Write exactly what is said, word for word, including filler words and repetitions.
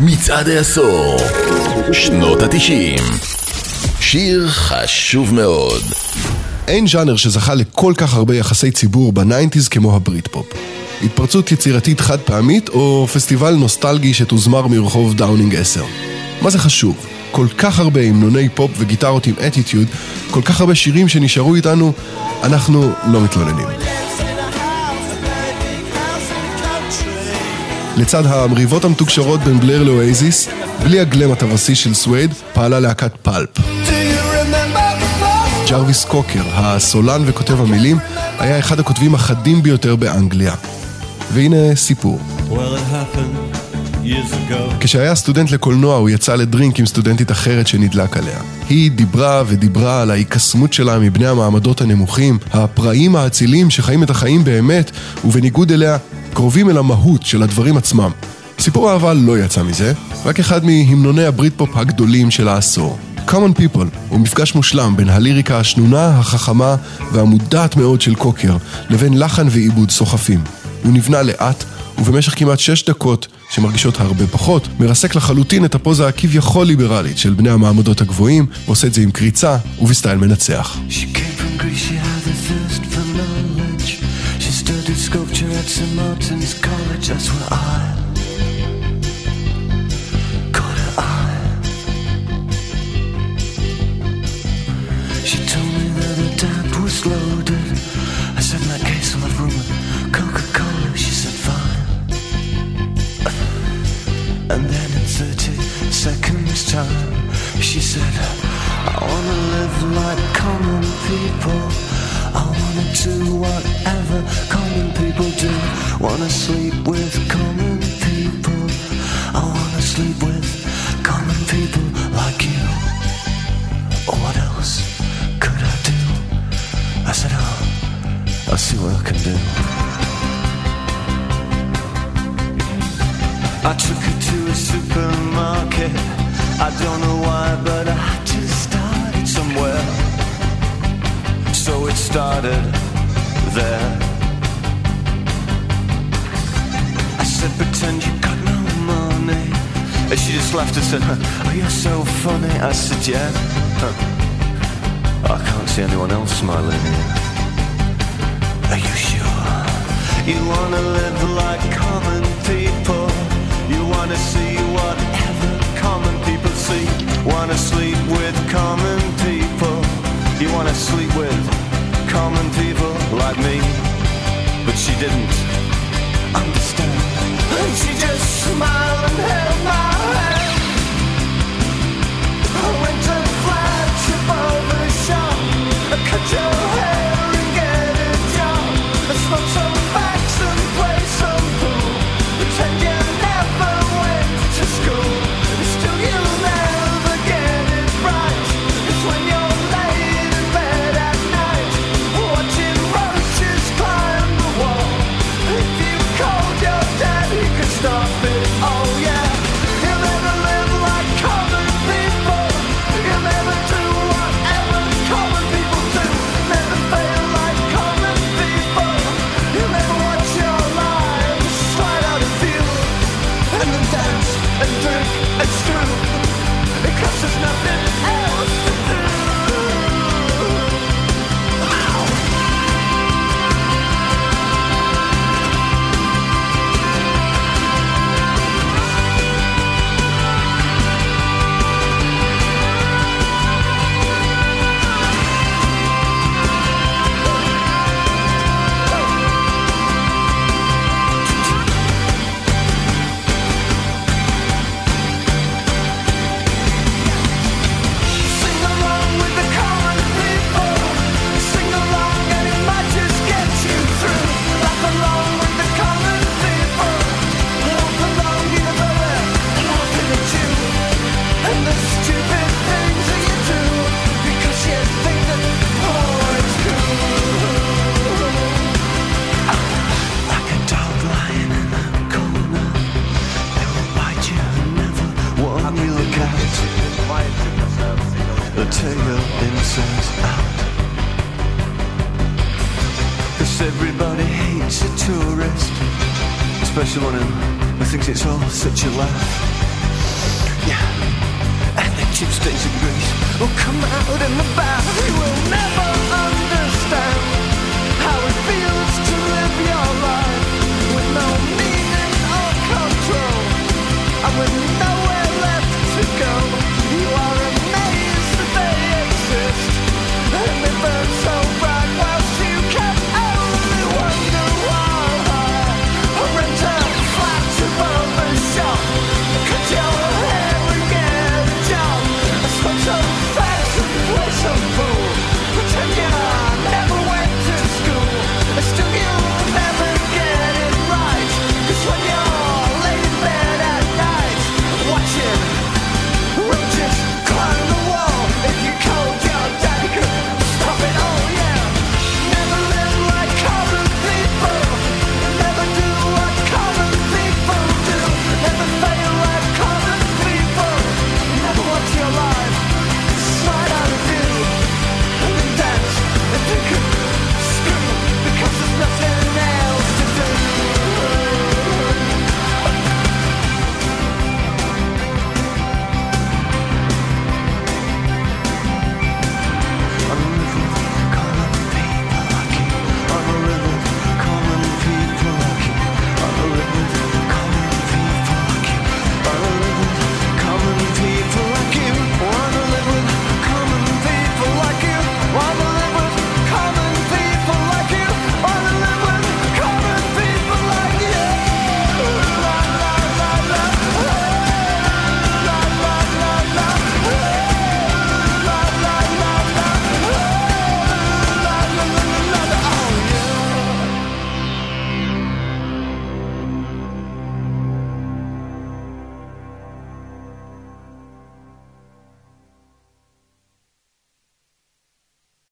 מצעד העשור, שנות התשעים. שיר חשוב מאוד. אין ז'אנר שזכה לכל כך הרבה יחסי ציבור בניינטיז כמו הברית פופ. התפרצות יצירתית חד פעמית או פסטיבל נוסטלגי שתוזמר מרחוב דאונינג עשר. מה זה חשוב? כל כך הרבה המנוני פופ וגיטרות עם אטיטיוד, כל כך הרבה שירים שנשארו איתנו, אנחנו לא מתלוננים. לצד המריבות המתוקשרות בין בלר לאואזיס, בלי הגלם הטווסי של סווייד, פעלה להקת פלפ. ג'רוויס קוקר, הסולן וכותב המילים, היה אחד הכותבים החדים ביותר באנגליה. והנה סיפור. כשהיה סטודנט לקולנוע הוא יצא לדרינק עם סטודנטית אחרת שנדלק עליה. היא דיברה ודיברה על ההיקסמות שלה מבני המעמדות הנמוכים, הפראים האצילים שחיים את החיים באמת, ובניגוד אליה קרובים אל המהות של הדברים עצמם. סיפור האהבה לא יצא מזה, רק אחד מהמנוני הברית פופ הגדולים של העשור. Common People הוא מפגש מושלם בין הליריקה השנונה, החכמה והמודעת מאוד של קוקר לבין לחן ועיבוד סוחפים. הוא נבנה לאט ובמשך כמעט שש דקות שמרגישות הרבה פחות, מרסק לחלוטין את הפוזה הכביכול ליברלית של בני המעמדות הגבוהים, ועושה את זה עם קריצה ובסטייל מנצח. Sculpture at Saint Martin's College, that's where I caught her eye. She told me that her dad was loaded. I said in that case I'll have room with Coca-Cola. She said fine. And then in thirty seconds time she said, I wanna live like common people. I wanna do whatever common people do. Wanna sleep with common people. I wanna sleep with common people like you. Or what else could I do? I said, oh, I'll see what I can do. I took her to a supermarket. I don't know why, but I just started somewhere. So it started there. I said, pretend you got no money. And she just laughed and said, oh, you're so funny. I said, yeah. Huh. I can't see anyone else smiling here. Are you sure? You wanna live like common people. You wanna see whatever common people see. Wanna sleep with common people. You wanna sleep with common people like me. But she didn't understand. And she just smiled and held my hand. I went to flash above the shop. I cut your hair and get a job. I smoke some facts and play some pool. Pretend you never went to school. Still you'll never get it right. It's when you're laid in bed at night, watching roaches climb the wall. If you called your dad, he could stop it. Oh yeah. You'll never live like common people. You'll never do whatever common people do. Never fail like common people. You'll never watch your lives slide out of view. And then dance and drink and screw. Because there's nothing else to do. Everybody hates a tourist, especially one who thinks it's all such a laugh. Yeah, and the Tuesdays of grace will come out in the bath. You will never understand how it feels to live your life